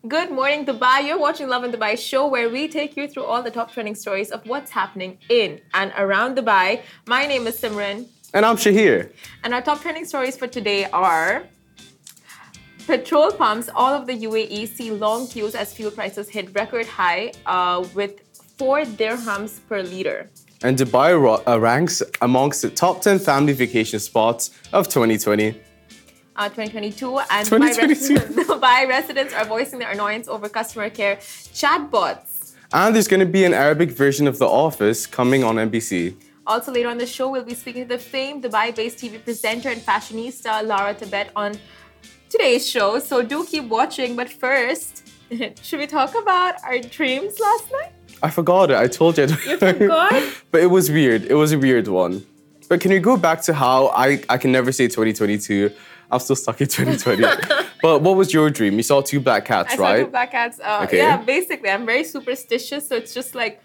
Good morning, Dubai. You're watching Love in Dubai show where we take you through all the top trending stories of what's happening in and around Dubai. My name is Simran. And I'm Shahir. And our top trending stories for today are petrol pumps all of the UAE see long queues as fuel prices hit record high with 4 dirhams per litre. And Dubai ranks amongst the top 10 family vacation spots of 2020. 2022 and 2022. Dubai residents are voicing their annoyance over customer care chatbots. And there's going to be an Arabic version of The Office coming on NBC. Also later on the show, we'll be speaking to the famed Dubai-based TV presenter and fashionista Lara Tibet on today's show. So do keep watching. But first, should we talk about our dreams last night? I forgot it. I told you. You forgot? But it was weird. It was a weird one. But can we go back to how I can never say 2022? I'm still stuck in 2020. But what was your dream? You saw 2 black cats, right? I saw 2 black cats. Okay. Yeah, basically, I'm very superstitious. So it's just like,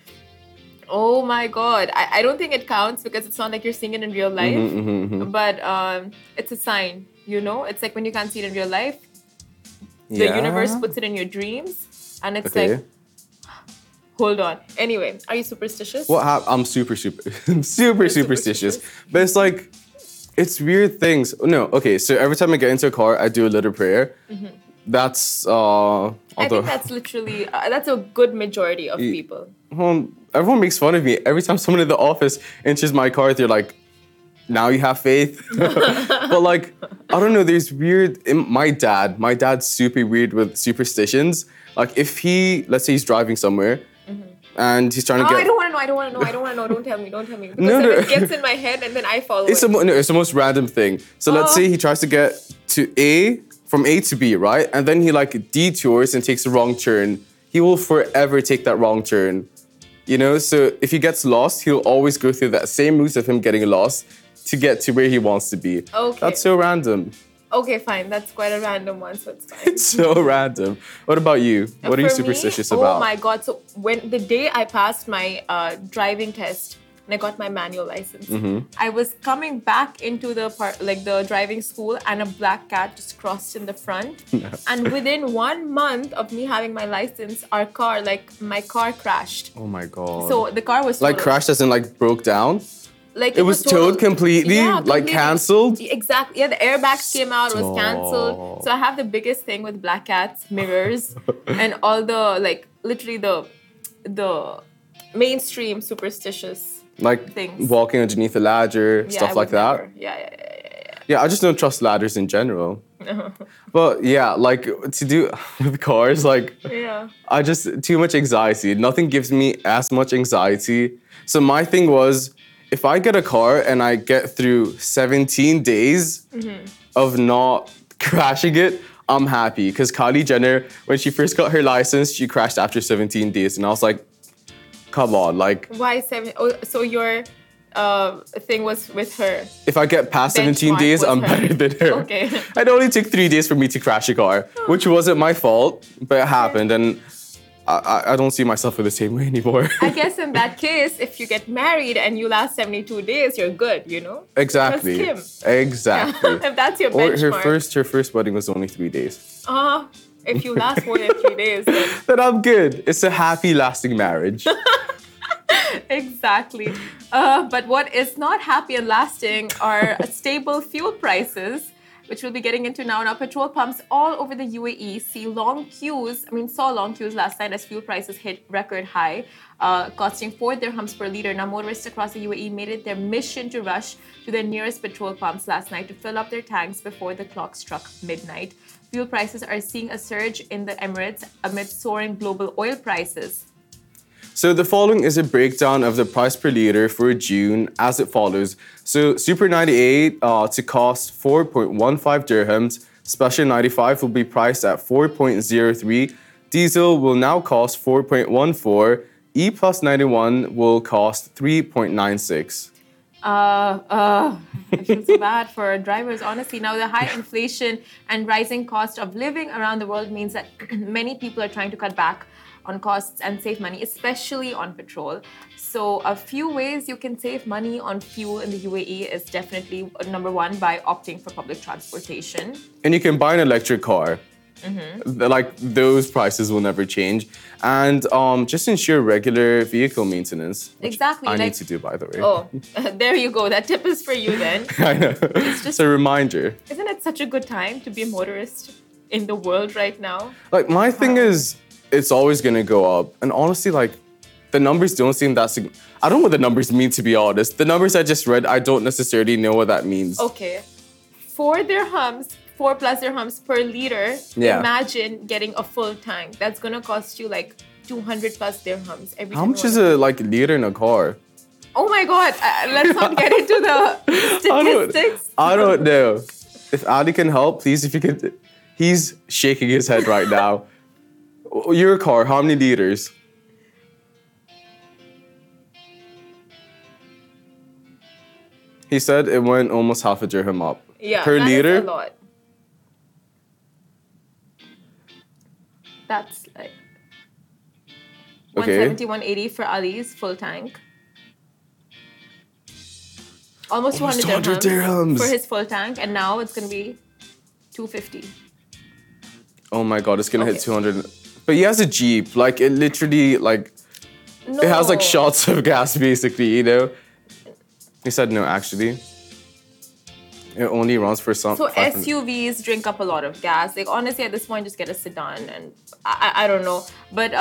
oh my God. I don't think it counts because it's not like you're seeing it in real life. But it's a sign, you know? It's like when you can't see it in real life, the universe puts it in your dreams. And it's like, hold on. Anyway, are you superstitious? I'm super superstitious. But it's like, it's weird things. No, okay, so every time I get into a car, I do a little prayer. That's, I think that's literally, that's a good majority of people. Everyone makes fun of me. Every time someone in the office enters my car, they're like, now you have faith. But like, I don't know, there's weird, my dad's super weird with superstitions. Like if let's say he's driving somewhere, and he's trying to get... I don't want to know. Don't tell me. Because it gets in my head and then I follow it. It's the most random thing. So let's say he tries to get from A to B, right? And then he like detours and takes a wrong turn. He will forever take that wrong turn. You know? So if he gets lost, he'll always go through that same route of him getting lost to get to where he wants to be. Okay. That's so random. Okay, fine. That's quite a random one, so it's fine. It's so random. What about you? What are you superstitious about? Oh my God. So when the day I passed my driving test and I got my manual license, I was coming back into the driving school and a black cat just crossed in the front. And within 1 month of me having my license, my car crashed. Oh my God. So the car was like crashed as in like broke down? Like it was towed completely, like cancelled? Exactly. Yeah, the airbags came out, it was cancelled. So I have the biggest thing with black cats, mirrors, and all the, like, literally the mainstream superstitious things. Walking underneath a ladder, stuff like that? Yeah, I just don't trust ladders in general. But yeah, like to do with cars, like I just, too much anxiety. Nothing gives me as much anxiety. So my thing was, if I get a car and I get through 17 days of not crashing it, I'm happy. Because Kylie Jenner, when she first got her license, she crashed after 17 days. And I was like, come on, like... Why 7? Oh, so your thing was with her? If I get past 17 days, I'm better than her. Okay. It only took 3 days for me to crash a car, which wasn't my fault, but it happened. And I don't see myself in the same way anymore. I guess in that case, if you get married and you last 72 days, you're good, you know? Exactly. Trust Kim. Exactly. If that's your benchmark. Her first wedding was only 3 days. If you last more than 3 days, then I'm good. It's a happy, lasting marriage. Exactly. But what is not happy and lasting are stable fuel prices, which we'll be getting into now. Now, petrol pumps all over the UAE saw long queues last night as fuel prices hit record high, costing 4 dirhams per litre. Now, motorists across the UAE made it their mission to rush to their nearest petrol pumps last night to fill up their tanks before the clock struck midnight. Fuel prices are seeing a surge in the Emirates amid soaring global oil prices. So the following is a breakdown of the price per litre for June as it follows. So Super 98 to cost 4.15 dirhams. Special 95 will be priced at 4.03. Diesel will now cost 4.14. E plus 91 will cost 3.96. I feel so bad for drivers, honestly. Now, the high inflation and rising cost of living around the world means that many people are trying to cut back on costs and save money, especially on petrol. So a few ways you can save money on fuel in the UAE is definitely number one, by opting for public transportation. And you can buy an electric car. Like those prices will never change. And just ensure regular vehicle maintenance. Exactly. I need to do, by the way. Oh, there you go. That tip is for you then. I know. It's a reminder. Isn't it such a good time to be a motorist in the world right now? Like my thing is, it's always going to go up. And honestly, like the numbers don't seem that I don't know what the numbers mean, to be honest. The numbers I just read, I don't necessarily know what that means. Okay. 4 plus dirhams per liter. Yeah. Imagine getting a full tank. That's going to cost you like 200 plus dirhams every time. How much is a liter in a car? Oh my God. Let's not get into the statistics. I don't know. If Ali can help, please, if you could. He's shaking his head right now. Your car, how many liters? He said it went almost half a dirham up. Yeah, per liter. Is a lot. That's like 170, 180 for Ali's full tank. Almost 200 dirhams for his full tank, and now it's gonna be 250. Oh my God, it's gonna hit 200. But he has a Jeep. Like it literally, it has like shots of gas, basically. You know. He said no, actually. It only runs for some. So SUVs drink up a lot of gas. Like honestly, at this point, just get a sedan, and I don't know. But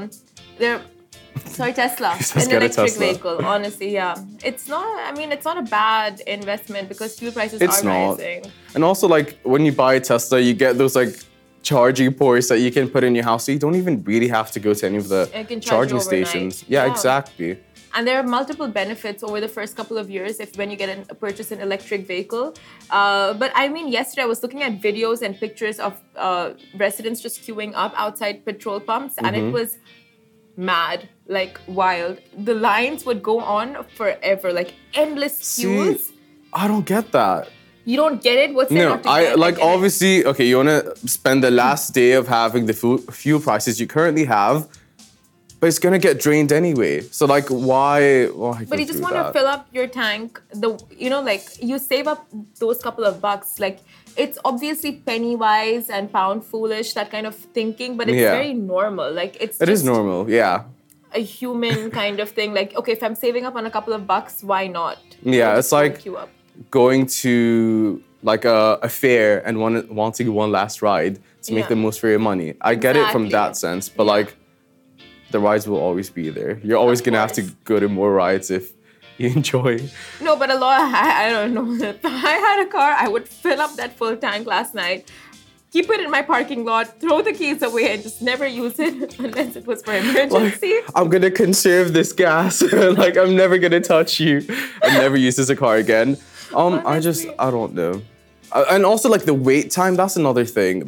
Tesla, an electric vehicle. Honestly, yeah, it's not. I mean, it's not a bad investment because fuel prices are rising. And also, like when you buy a Tesla, you get those charging ports that you can put in your house, so you don't even really have to go to any of the charging stations. Yeah, exactly. And there are multiple benefits over the first couple of years when you purchase an electric vehicle. But I mean, yesterday I was looking at videos and pictures of residents just queuing up outside petrol pumps, and it was mad, like wild. The lines would go on forever, like endless queues. See, I don't get that. You don't get it? What's there not to get? Obviously, okay, you want to spend the last day of having the fuel prices you currently have, but it's gonna get drained anyway. So why? But you just want to fill up your tank. You save up those couple of bucks. Like it's obviously penny wise and pound foolish, that kind of thinking. But it's very normal. Like it is normal. Yeah. A human kind of thing. Like okay, if I'm saving up on a couple of bucks, why not? Yeah, it's like going to a fair and wanting one last ride to make the most for your money. I get it from that sense, but the rides will always be there. You're always going to have to go to more rides if you enjoy. No, but I don't know. If I had a car, I would fill up that full tank last night, keep it in my parking lot, throw the keys away, and just never use it unless it was for emergency. I'm going to conserve this gas. I'm never going to touch you and never use this as a car again. I don't know. And also, the wait time, that's another thing.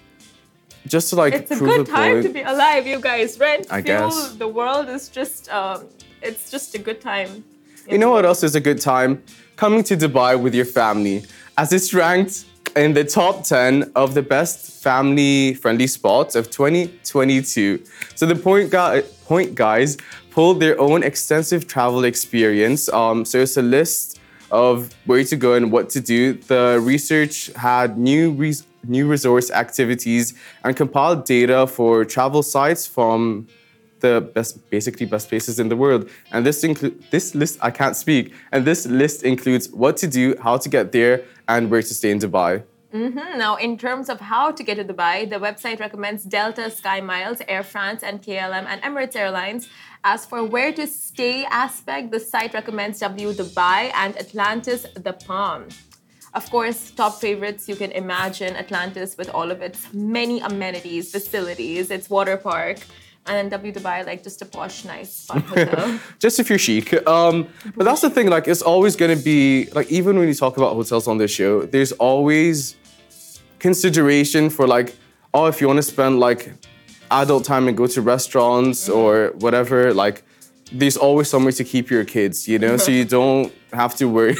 Just to it's a good time to be alive, you guys. Rent, fuel, the world is just, it's just a good time. You know what else is a good time? Coming to Dubai with your family, as it's ranked in the top 10 of the best family-friendly spots of 2022. So the Point Guys pulled their own extensive travel experience. So it's a list of where to go and what to do. The research had new resource activities and compiled data for travel sites from the best places in the world. And this list, I can't speak. And this list includes what to do, how to get there, and where to stay in Dubai. Now, in terms of how to get to Dubai, the website recommends Delta, Sky Miles, Air France, and KLM and Emirates Airlines. As for where to stay aspect, the site recommends W Dubai and Atlantis The Palm. Of course, top favorites, you can imagine Atlantis with all of its many amenities, facilities, its water park. And then W Dubai, just a posh, nice, fun hotel. Just if you're chic. But that's the thing, it's always going to be, even when you talk about hotels on this show, there's always consideration for, if you want to spend, adult time and go to restaurants or whatever, there's always somewhere to keep your kids, you know? So you don't have to worry.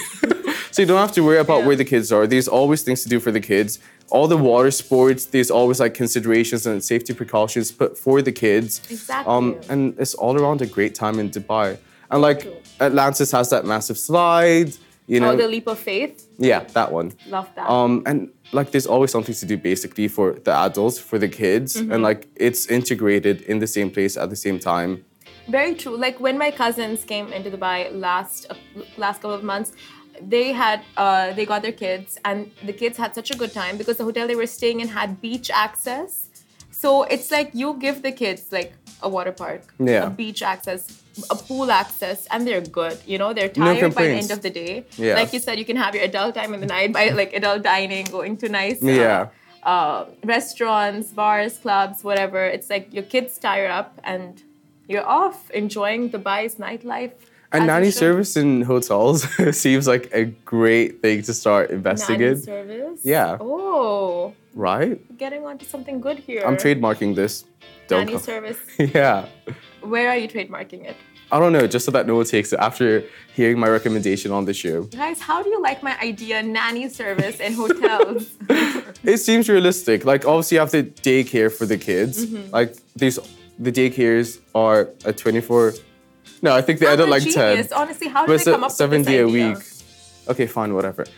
About where the kids are. There's always things to do for the kids. All the water sports, there's always considerations and safety precautions put for the kids. Exactly. And it's all around a great time in Dubai. And Atlantis has that massive slide. You know? Oh, the leap of faith? Yeah, that one. Love that. And like there's always something to do basically for the adults, for the kids, and like it's integrated in the same place at the same time. Very true. Like when my cousins came into Dubai last couple of months, they got their kids, and the kids had such a good time because the hotel they were staying in had beach access. So it's like you give the kids like a water park, a beach access, a pool access, and they're good. You know, they're tired by the end of the day. Yeah. Like you said, you can have your adult time in the night by like adult dining, going to nice restaurants, bars, clubs, whatever. It's like your kids tire up and you're off enjoying Dubai's nightlife. And nanny service in hotels seems like a great thing to start investing in. Nanny service? Yeah. Oh. Right? Getting onto something good here. I'm trademarking this. Nanny service. Yeah. Where are you trademarking it? I don't know, just so that no one takes it after hearing my recommendation on the show. Guys, how do you like my idea, nanny service in hotels? It seems realistic. Like, obviously, you have the daycare for the kids. Like, the daycares are a 24... No, I think they end at like 10. Honestly, how did they come up with this 7 day idea? a week. Okay, fine, whatever.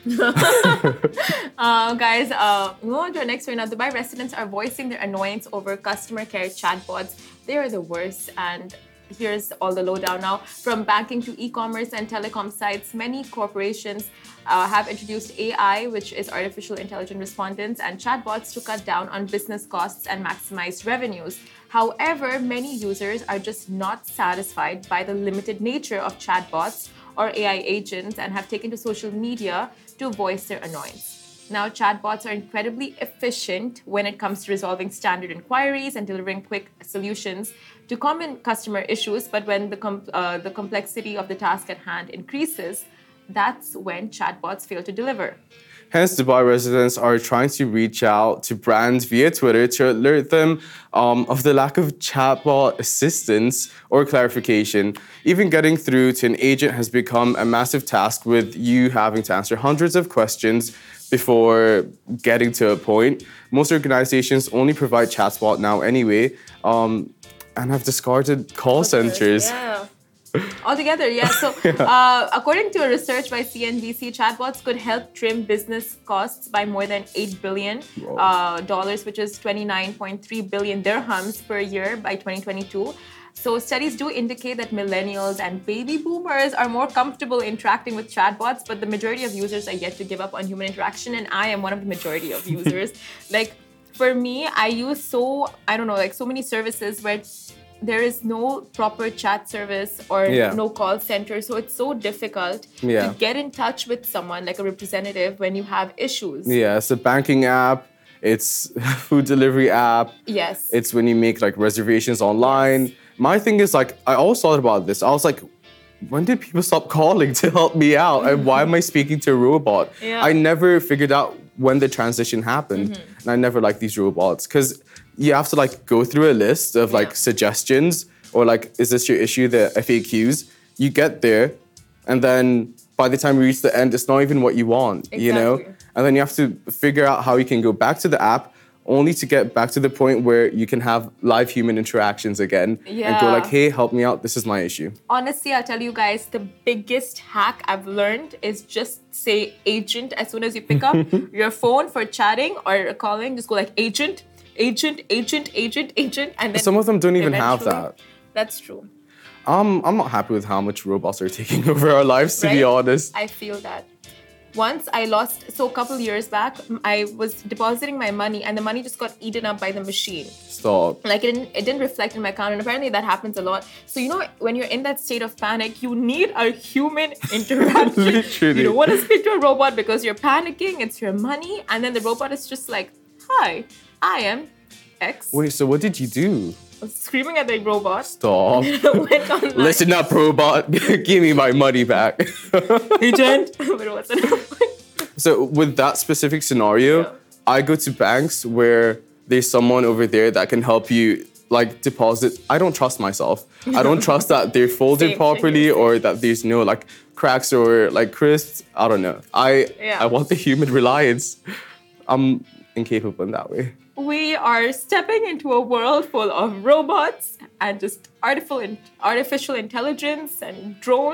Guys, moving on to our next story. Now, Dubai residents are voicing their annoyance over customer care chatbots. They are the worst, and here's all the lowdown now. From banking to e-commerce and telecom sites, many corporations have introduced AI, which is artificial intelligent respondents, and chatbots to cut down on business costs and maximize revenues. However, many users are just not satisfied by the limited nature of chatbots or AI agents and have taken to social media to voice their annoyance. Now, chatbots are incredibly efficient when it comes to resolving standard inquiries and delivering quick solutions to common customer issues, but when the complexity of the task at hand increases, that's when chatbots fail to deliver. Hence, Dubai residents are trying to reach out to brands via Twitter to alert them of the lack of chatbot assistance or clarification. Even getting through to an agent has become a massive task, with you having to answer hundreds of questions before getting to a point. Most organizations only provide chatbot now anyway, and have discarded call centers. Yeah. Altogether, yeah. So, according to a research by CNBC, chatbots could help trim business costs by more than $8 billion, which is 29.3 billion dirhams per year by 2022. So, studies do indicate that millennials and baby boomers are more comfortable interacting with chatbots, but the majority of users are yet to give up on human interaction, and I am one of the majority of users. Like, for me, I use so many services where there is no proper chat service or no call center. So it's so difficult to get in touch with someone like a representative when you have issues. Yeah, it's a banking app. It's a food delivery app. Yes. It's when you make like reservations online. Yes. My thing is like, I always thought about this. I was like, when did people stop calling to help me out? And why am I speaking to a robot? Yeah. I never figured out when the transition happened. And I never liked these robots because you have to like go through a list of like suggestions or like, is this your issue, the FAQs? You get there, and then by the time you reach the end, it's not even what you want, you know? And then you have to figure out how you can go back to the app only to get back to the point where you can have live human interactions again and go like, hey, help me out, this is my issue. Honestly, I'll tell you guys, the biggest hack I've learned is just say agent as soon as you pick up your phone for chatting or calling. Just go like agent, and then some of them don't even have that. That's true. I'm not happy with how much robots are taking over our lives, to be honest. I feel that. Once I lost, so a couple years back, I was depositing my money and the money just got eaten up by the machine. Stop. Like it didn't reflect in my account, and apparently that happens a lot. So you know, when you're in that state of panic, you need a human interaction. Literally. You don't want to speak to a robot because you're panicking, it's your money, and then the robot is just like, hi, I am X. Wait, so what did you do? I was screaming at the robot. Stop. Went online. Listen up, robot. Give me my money back. Agent. So with that specific scenario, I go to banks where there's someone over there that can help you like deposit. I don't trust myself. I don't trust that they're folded properly or that there's no like cracks or like crisps. I don't know. I want the human reliance. I'm incapable in that way. We are stepping into a world full of robots and just artificial intelligence and drones.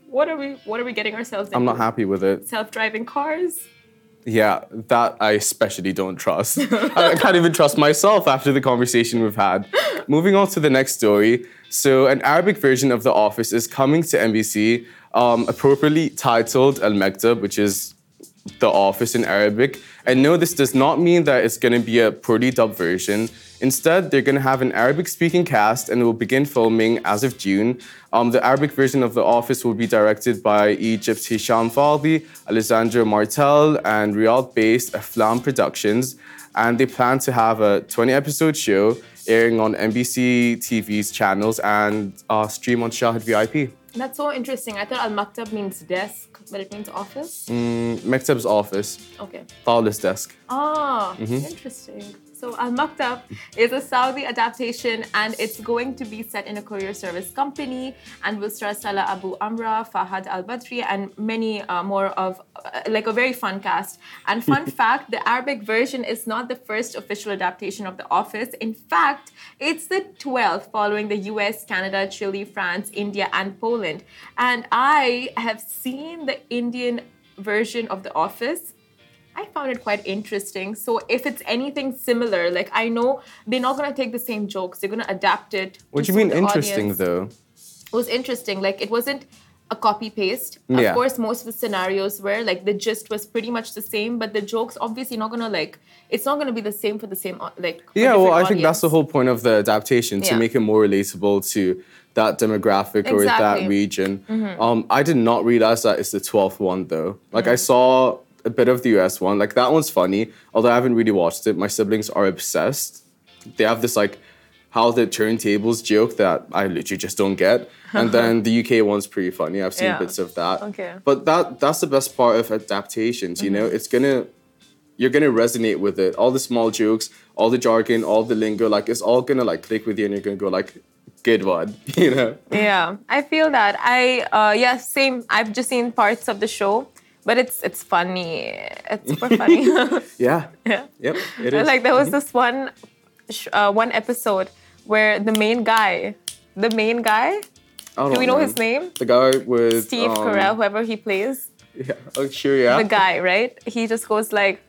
what are we getting ourselves into? I'm not happy with it. Self-driving cars? Yeah, that I especially don't trust. I can't even trust myself after the conversation we've had. Moving on to the next story. So an Arabic version of The Office is coming to NBC, appropriately titled Al Maktab, which is The Office in Arabic. And no, this does not mean that it's going to be a poorly dubbed version. Instead, they're going to have an Arabic-speaking cast and will begin filming as of June. The Arabic version of The Office will be directed by Egypt's Hisham Fadhi, Alessandro Martel, and Riyadh-based Aflam Productions. And they plan to have a 20-episode show airing on NBC TV's channels and stream on Shahid VIP. That's so interesting. I thought Al-Maktab means desk, but it means office? Maktab's office. Okay. Tawla's desk. Interesting. So Al-Maktab is a Saudi adaptation and it's going to be set in a courier service company and will star Salah Abu Amra, Fahad Al-Badri and many more of like a very fun cast. And fun fact, the Arabic version is not the first official adaptation of The Office. In fact, it's the 12th following the US, Canada, Chile, France, India and Poland. And I have seen the Indian version of The Office. I found it quite interesting. So if it's anything similar, like I know they're not going to take the same jokes. They're going to adapt it. What do you mean interesting though? It was interesting. Like it wasn't a copy paste. Yeah. Of course, most of the scenarios were like the gist was pretty much the same, but the jokes obviously not going to like, it's not going to be the same for the same like. Yeah, well, I think that's the whole point of the adaptation, to make it more relatable to that demographic or that region. I did not realize that it's the 12th one though. Like I saw a bit of the US one. Like that one's funny, although I haven't really watched it. My siblings are obsessed. They have this like how the turntables joke that I literally just don't get. And then the UK one's pretty funny. I've seen bits of that. Okay. But that's the best part of adaptations, you know? You're gonna resonate with it. All the small jokes, all the jargon, all the lingo, like it's all gonna like click with you and you're gonna go like, good one, you know? Yeah, I feel that. Same. I've just seen parts of the show. But it's funny. It's super funny. Yeah. Yep, it is. Like there was this one episode where the main guy, do we know his name? The guy with Steve Carell, whoever he plays. Yeah, oh, sure, yeah. The guy, right? He just goes like,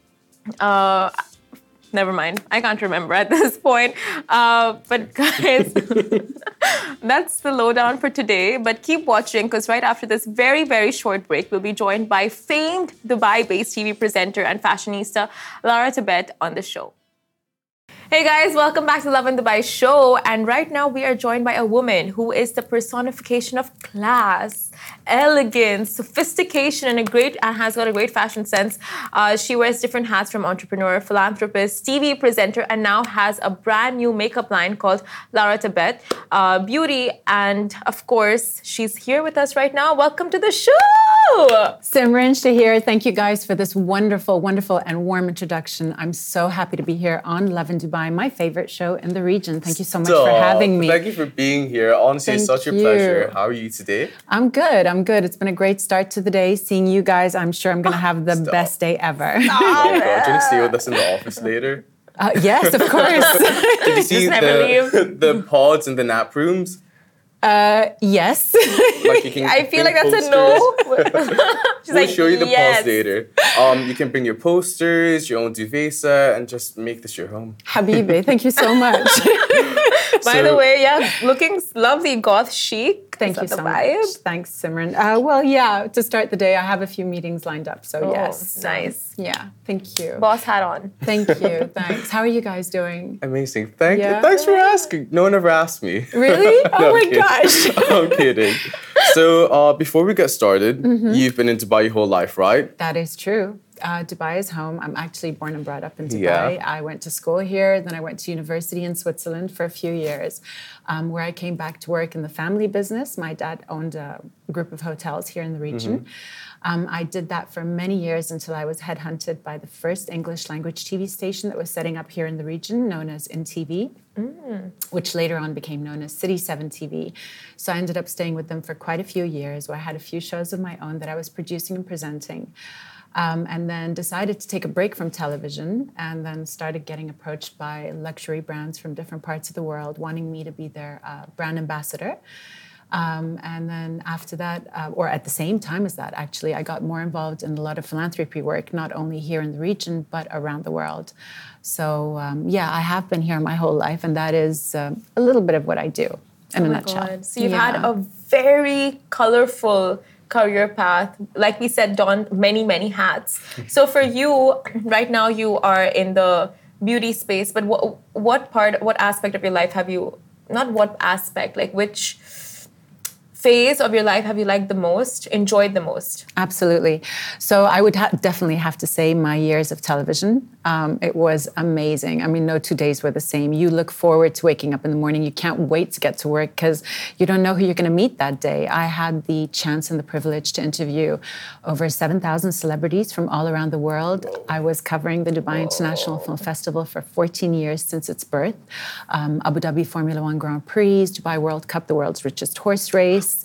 never mind. I can't remember at this point. But guys, that's the lowdown for today. But keep watching because right after this very, very short break, we'll be joined by famed Dubai-based TV presenter and fashionista Lara Tibet on the show. Hey guys, welcome back to Lovin Dubai show. And right now we are joined by a woman who is the personification of class, elegance, sophistication, and has got a great fashion sense. She wears different hats from entrepreneur, philanthropist, TV presenter, and now has a brand new makeup line called Lara Tibet Beauty. And of course, she's here with us right now. Welcome to the show. Simran, Shahir, thank you guys for this wonderful, wonderful and warm introduction. I'm so happy to be here on Lovin Dubai, my favorite show in the region. Thank you so much for having me. Thank you for being here. Honestly, it's such a pleasure. How are you today? I'm good. It's been a great start to the day. Seeing you guys, I'm sure I'm going to have the best day ever. Oh my God. Do you want to stay with us in the office later? Yes, of course. Did you see the pods in the nap rooms? Yes. I feel like that's posters. A no. We'll show you the pods later. You can bring your posters, your own duvet set, and just make this your home. Habibi, thank you so much. By the way, looking lovely, goth chic. Thank you so much. Thanks, Simran. To start the day, I have a few meetings lined up, so yes. Nice. Yeah, thank you. Boss hat on. Thank you, thanks. How are you guys doing? Amazing. Thanks for asking. No one ever asked me. Really? Oh my gosh. I'm kidding. So before we get started, you've been in Dubai your whole life, right? That is true. Dubai is home. I'm actually born and brought up in Dubai. I went to school here, then I went to university in Switzerland for a few years, where I came back to work in the family business. My dad owned a group of hotels here in the region. I did that for many years until I was headhunted by the first English language TV station that was setting up here in the region, known as InTV, which later on became known as City 7 TV. So I ended up staying with them for quite a few years, where I had a few shows of my own that I was producing and presenting. And then decided to take a break from television and then started getting approached by luxury brands from different parts of the world wanting me to be their brand ambassador. And then after that, or at the same time as that, actually, I got more involved in a lot of philanthropy work, not only here in the region, but around the world. So, I have been here my whole life, and that is a little bit of what I do in a nutshell. God. So you've had a very colorful career path. Like we said, donned many, many hats. So for you, right now you are in the beauty space, but what aspect of your life have you, not what aspect, like which phase of your life have you liked the most, enjoyed the most? Absolutely. So I would definitely have to say my years of television. It was amazing. I mean, no 2 days were the same. You look forward to waking up in the morning. You can't wait to get to work because you don't know who you're going to meet that day. I had the chance and the privilege to interview over 7,000 celebrities from all around the world. I was covering the Dubai International Film Festival for 14 years since its birth. Abu Dhabi Formula One Grand Prix, Dubai World Cup, the world's richest horse race,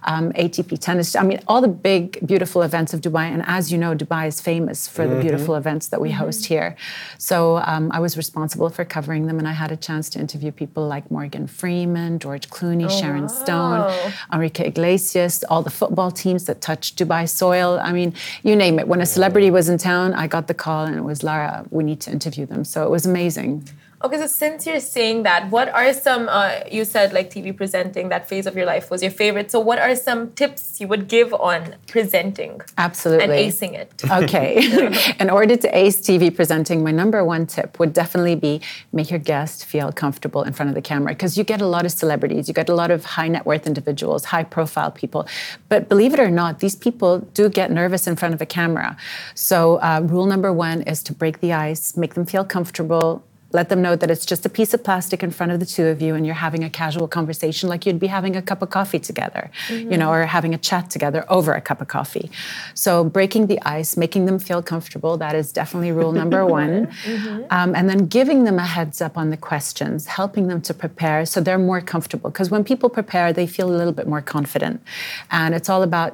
ATP tennis. I mean, all the big, beautiful events of Dubai. And as you know, Dubai is famous for the beautiful events that we host here. So I was responsible for covering them, and I had a chance to interview people like Morgan Freeman, George Clooney, Sharon Stone, Enrique Iglesias, all the football teams that touched Dubai soil. I mean, you name it. When a celebrity was in town, I got the call, and it was, Lara, we need to interview them. So it was amazing. Okay, so since you're saying that, what are some, you said like TV presenting, that phase of your life was your favorite. So what are some tips you would give on presenting? Absolutely. And acing it? Okay. In order to ace TV presenting, my number one tip would definitely be make your guest feel comfortable in front of the camera, because you get a lot of celebrities, you get a lot of high net worth individuals, high profile people. But believe it or not, these people do get nervous in front of a camera. So rule number one is to break the ice, make them feel comfortable. Let them know that it's just a piece of plastic in front of the two of you and you're having a casual conversation like you'd be having a cup of coffee together, or having a chat together over a cup of coffee. So breaking the ice, making them feel comfortable, that is definitely rule number one. And then giving them a heads up on the questions, helping them to prepare so they're more comfortable. Because when people prepare, they feel a little bit more confident. And it's all about,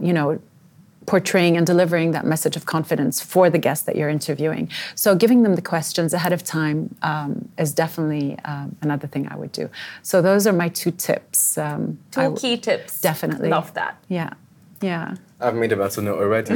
portraying and delivering that message of confidence for the guest that you're interviewing. So giving them the questions ahead of time is definitely another thing I would do. So those are my two tips. Two key tips. Definitely. Love that. Yeah. I've made a mental note already.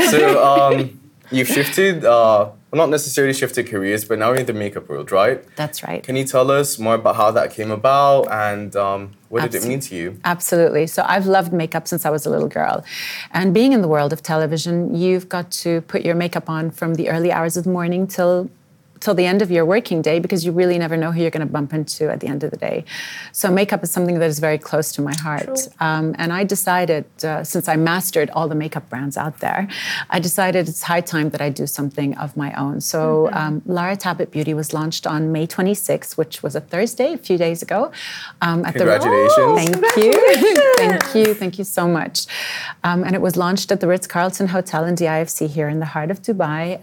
So you've shifted, not necessarily shifted careers, but now you're in the makeup world, right? That's right. Can you tell us more about how that came about and what did it mean to you? Absolutely. So I've loved makeup since I was a little girl. And being in the world of television, you've got to put your makeup on from the early hours of the morning till the end of your working day, because you really never know who you're going to bump into at the end of the day. So makeup is something that is very close to my heart. And I decided, since I mastered all the makeup brands out there, I decided it's high time that I do something of my own. So Lara Tabit Beauty was launched on May 26th, which was a Thursday, a few days ago. Congratulations. Thank you so much. And it was launched at the Ritz-Carlton Hotel in DIFC here in the heart of Dubai.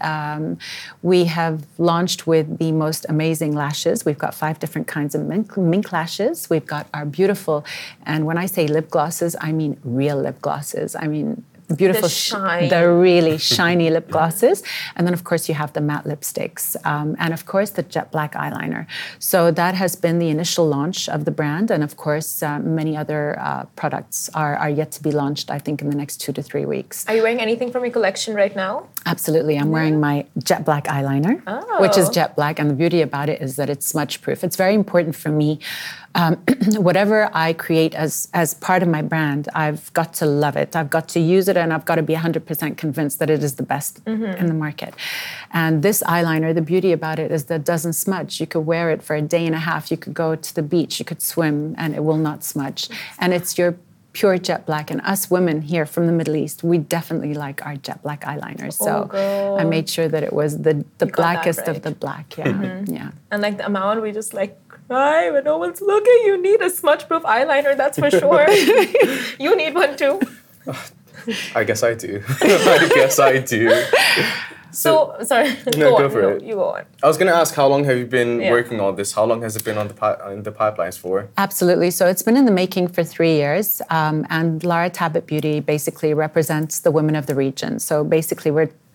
We have launched with the most amazing lashes. We've got 5 different kinds of mink lashes. We've got our beautiful, and when I say lip glosses, I mean real lip glosses. I mean beautiful, the really shiny lip glosses. And then, of course, you have the matte lipsticks. And, of course, the jet black eyeliner. So that has been the initial launch of the brand. And, of course, many other products are yet to be launched, I think, in the next 2 to 3 weeks. Are you wearing anything from your collection right now? Absolutely. I'm wearing my jet black eyeliner, which is jet black. And the beauty about it is that it's smudge proof. It's very important for me. Whatever I create as part of my brand, I've got to love it. I've got to use it, and I've got to be 100% convinced that it is the best in the market. And this eyeliner, the beauty about it is that it doesn't smudge. You could wear it for a day and a half. You could go to the beach. You could swim, and it will not smudge. And it's your pure jet black. And us women here from the Middle East, we definitely like our jet black eyeliners. So I made sure that it was the blackest of the black. Yeah. And like the amount, we just like cry when no one's looking. You need a smudge-proof eyeliner, that's for sure. You need one too. I guess I do. So sorry. No, go for it. You go on. I was going to ask, how long have you been working on this? How long has it been in the pipelines for? Absolutely. So it's been in the making for 3 years. And Lara Tabit Beauty basically represents the women of the region. So basically, we're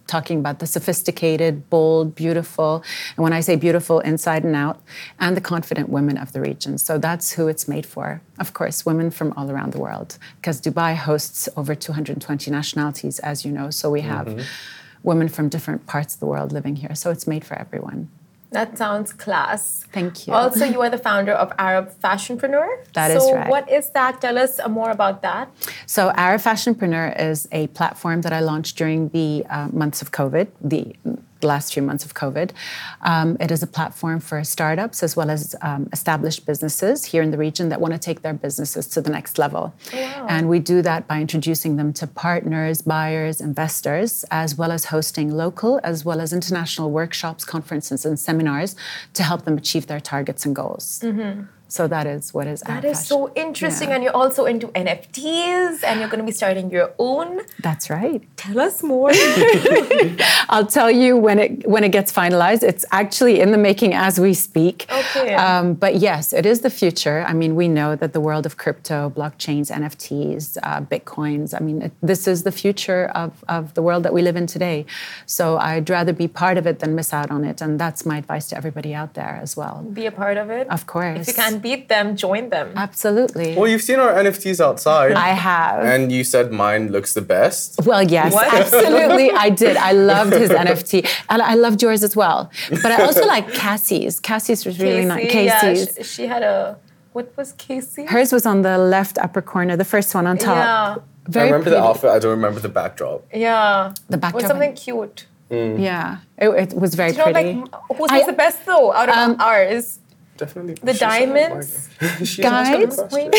talking about the sophisticated, bold, beautiful, and when I say beautiful, inside and out, and the confident women of the region. So that's who it's made for. Of course, women from all around the world, because Dubai hosts over 220 nationalities, as you know. So we have women from different parts of the world living here. So it's made for everyone. That sounds class. Thank you. Also, you are the founder of Arab Fashionpreneur. That is right. So what is that? Tell us more about that. So Arab Fashionpreneur is a platform that I launched during the months of COVID, the last few months of COVID. It is a platform for startups as well as established businesses here in the region that want to take their businesses to the next level. Wow. And we do that by introducing them to partners, buyers, investors, as well as hosting local as well as international workshops, conferences, and seminars to help them achieve their targets and goals. So that is what is That is so interesting. And you're also into NFTs and you're going to be starting your own. That's right. Tell us more. I'll tell you when it gets finalized. It's actually in the making as we speak. Okay. But yes, it is the future. I mean, we know that the world of crypto, blockchains, NFTs, Bitcoins, I mean, this is the future of the world that we live in today. So I'd rather be part of it than miss out on it. And that's my advice to everybody out there as well. Be a part of it. Of course. If you can't beat them, join them. Absolutely. Well, you've seen our NFTs outside. I have. And you said mine looks the best. Well, yes, absolutely. I did. I loved his NFT. And I loved yours as well. But I also like Cassie's. Cassie's was really nice. Casey's. Yeah, she had a... What was Casey? Hers was on the left upper corner, the first one on top. Yeah. Very I remember pretty. the outfit. I don't remember the backdrop. Yeah. The backdrop. Was something cute. Yeah. It was very pretty. Like, whose was the best, though, out of ours? Definitely. The diamonds? Guys?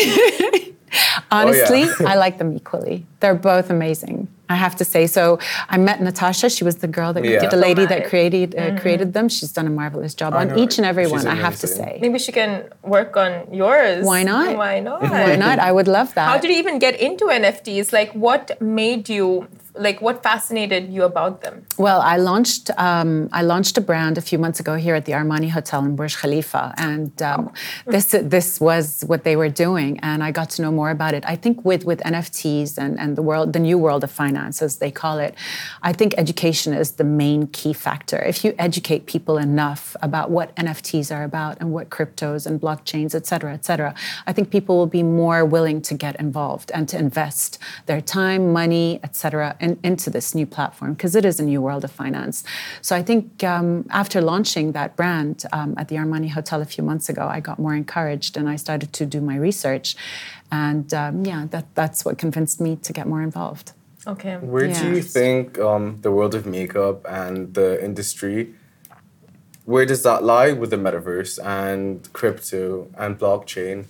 Honestly, I like them equally. They're both amazing, I have to say. So I met Natasha. She was the girl that the lady that created them. She's done a marvelous job on each and every one, I have to say. Maybe she can work on yours. Why not? Why not? Why not? I would love that. How did you even get into NFTs? Like, what made you... Like, what fascinated you about them? Well, I launched a brand a few months ago here at the Armani Hotel in Burj Khalifa, and this was what they were doing, and I got to know more about it. I think with NFTs and the new world of finance, as they call it, I think education is the main key factor. If you educate people enough about what NFTs are about and what cryptos and blockchains, et cetera, I think people will be more willing to get involved and to invest their time, money, et cetera, into this new platform, because it is a new world of finance. So I think after launching that brand at the Armani Hotel a few months ago, I got more encouraged and I started to do my research. And that's what convinced me to get more involved. Okay. Where do you think the world of makeup and the industry, where does that lie with the metaverse and crypto and blockchain?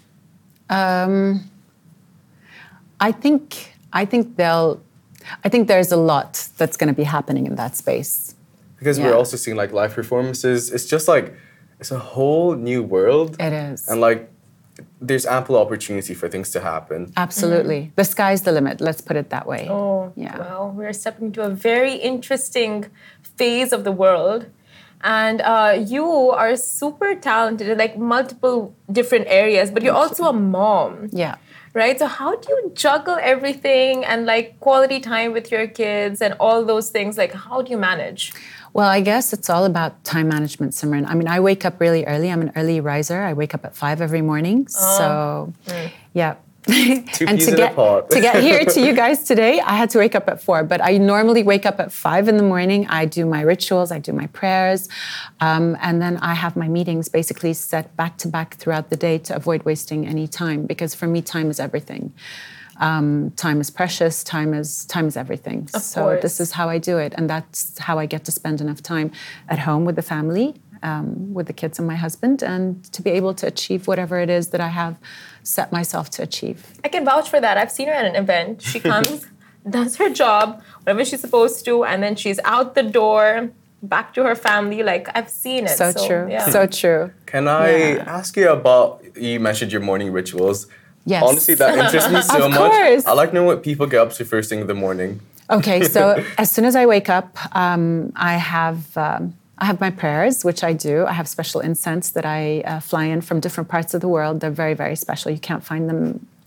I think there's a lot that's going to be happening in that space. Because we're also seeing like live performances. It's just like, it's a whole new world. It is. And like, there's ample opportunity for things to happen. Absolutely. The sky's the limit, let's put it that way. Oh, yeah. Well, we're stepping into a very interesting phase of the world. And you are super talented in like multiple different areas, but you're also a mom. Yeah. Right? So how do you juggle everything and like quality time with your kids and all those things? Like, how do you manage? Well, I guess it's all about time management, Simran. I mean, I wake up really early. I'm an early riser. I wake up at 5 every morning. Yeah. And to get here to you guys today, I had to wake up at 4. But I normally wake up at 5 in the morning. I do my rituals, I do my prayers, and then I have my meetings basically set back to back throughout the day to avoid wasting any time. Because for me, time is everything. Time is precious. Time is everything. So this is how I do it, and that's how I get to spend enough time at home with the family. With the kids and my husband, and to be able to achieve whatever it is that I have set myself to achieve. I can vouch for that. I've seen her at an event. She comes, does her job, whatever she's supposed to, and then she's out the door, back to her family. Like, I've seen it. So true. Yeah. So true. Can I ask you about, you mentioned your morning rituals. Yes. Honestly, that interests me so Of much. course. I like knowing what people get up to first thing in the morning. Okay, so as soon as I wake up, I have my prayers, which I do. I have special incense that I fly in from different parts of the world. They're very, very special. You can't find them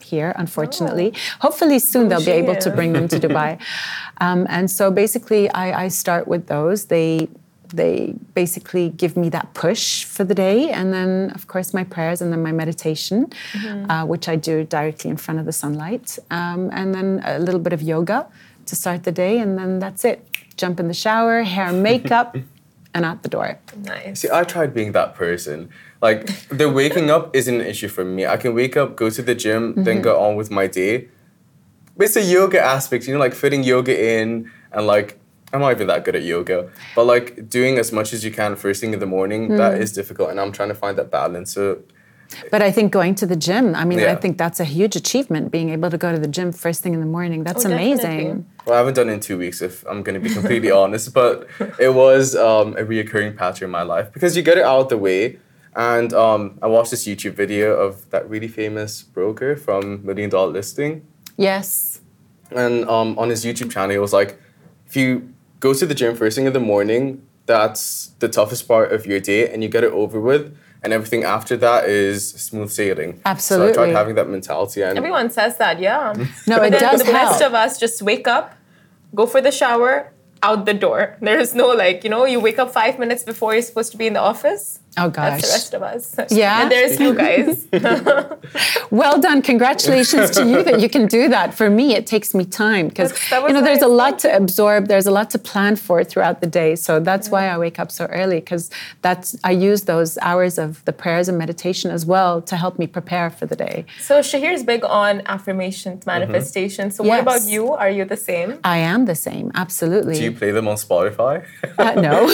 here, unfortunately. Hopefully soon they'll be able to bring them to Dubai. And so basically I start with those. They basically give me that push for the day. And then, of course, my prayers and then my meditation, which I do directly in front of the sunlight. And then a little bit of yoga to start the day. And then that's it. Jump in the shower, hair, makeup, and out the door. Nice. See, I tried being that person. Like, the waking up isn't an issue for me. I can wake up, go to the gym, then go on with my day. But it's the yoga aspect, you know, like fitting yoga in and like, I'm not even that good at yoga, but like doing as much as you can first thing in the morning, that is difficult. And I'm trying to find that balance. But I think going to the gym, I mean, I think that's a huge achievement, being able to go to the gym first thing in the morning. That's amazing. Definitely. Well, I haven't done it in 2 weeks, if I'm going to be completely honest, but it was a reoccurring pattern in my life because you get it out of the way. And I watched this YouTube video of that really famous broker from $1 Million Listing. Yes. And on his YouTube channel, he was like, if you go to the gym first thing in the morning, that's the toughest part of your day and you get it over with. And everything after that is smooth sailing. Absolutely. So I tried having that mentality. And everyone says that, yeah. No, it does help. The rest of us just wake up, go for the shower, out the door. There is no like, you know, you wake up 5 minutes before you're supposed to be in the office. Oh gosh. That's the rest of us. Yeah. And there's you guys. Well done. Congratulations to you that you can do that. For me, it takes me time because, you know, there's a lot to absorb. There's a lot to plan for throughout the day. So that's why I wake up so early because I use those hours of the prayers and meditation as well to help me prepare for the day. So Shahir's big on affirmations, manifestation. So what about you? Are you the same? I am the same. Absolutely. Do you play them on Spotify? No.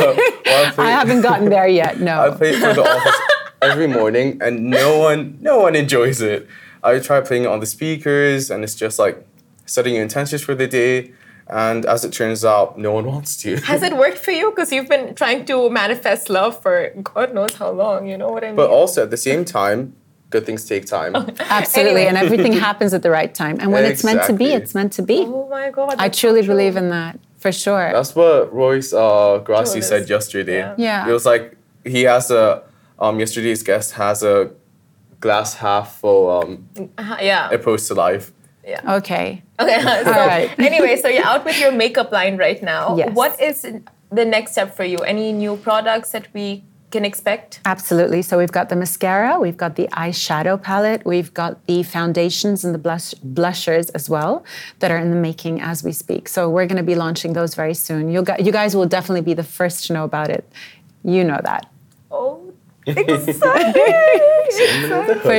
I haven't gotten there yet. No. I play it for the office every morning and no one enjoys it. I try playing it on the speakers and it's just like setting your intentions for the day. And as it turns out, no one wants to. Has it worked for you? Because you've been trying to manifest love for God knows how long, you know what I mean? But also at the same time, good things take time. Absolutely, and everything happens at the right time. And when it's meant to be, it's meant to be. Oh my God. I truly believe in that, for sure. That's what Royce Grassi said yesterday. Yeah. It was like, he has yesterday's guest has a glass half full approach to life. Yeah. Okay. So anyway, so you're out with your makeup line right now. Yes. What is the next step for you? Any new products that we can expect? Absolutely. So we've got the mascara, we've got the eyeshadow palette, we've got the foundations and the blushers as well that are in the making as we speak. So we're going to be launching those very soon. You guys will definitely be the first to know about it. You know that. Oh, exciting! For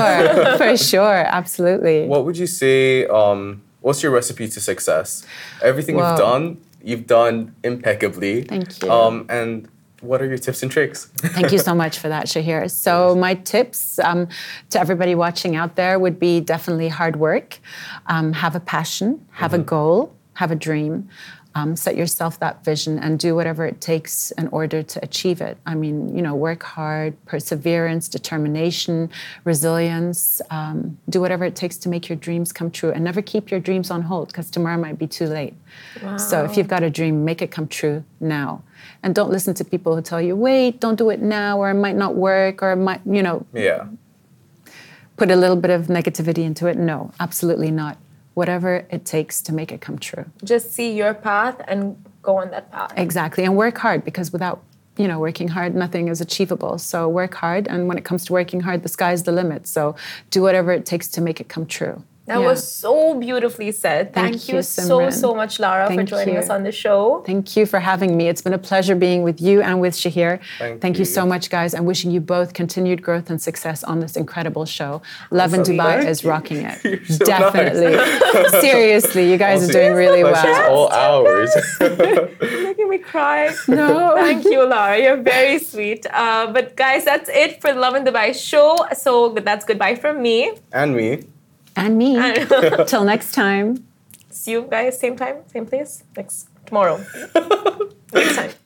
sure, absolutely. What would you say, what's your recipe to success? Everything you've done impeccably. Thank you. And what are your tips and tricks? Thank you so much for that, Shahir. So my tips to everybody watching out there would be definitely hard work, have a passion, have a goal, have a dream. Set yourself that vision and do whatever it takes in order to achieve it. I mean, you know, work hard, perseverance, determination, resilience. Do whatever it takes to make your dreams come true and never keep your dreams on hold because tomorrow might be too late. Wow. So if you've got a dream, make it come true now. And don't listen to people who tell you, wait, don't do it now, or it might not work, or it might, you know, put a little bit of negativity into it. No, absolutely not. Whatever it takes to make it come true. Just see your path and go on that path. Exactly, and work hard because without, you know, working hard, nothing is achievable. So work hard, and when it comes to working hard, the sky's the limit. So do whatever it takes to make it come true. That was so beautifully said. Thank you so much, Lara, for joining us on the show. Thank you for having me. It's been a pleasure being with you and with Shahir. Thank you so much, guys. I'm wishing you both continued growth and success on this incredible show. Love in Dubai is rocking it. So definitely. Nice. Seriously, you guys are doing really well. All hours. You're making me cry. No. Thank you, Lara. You're very sweet. But guys, that's it for the Love in Dubai show. So that's goodbye from me. And me. And me. Till next time. See you guys, same time, same place, tomorrow. Next time.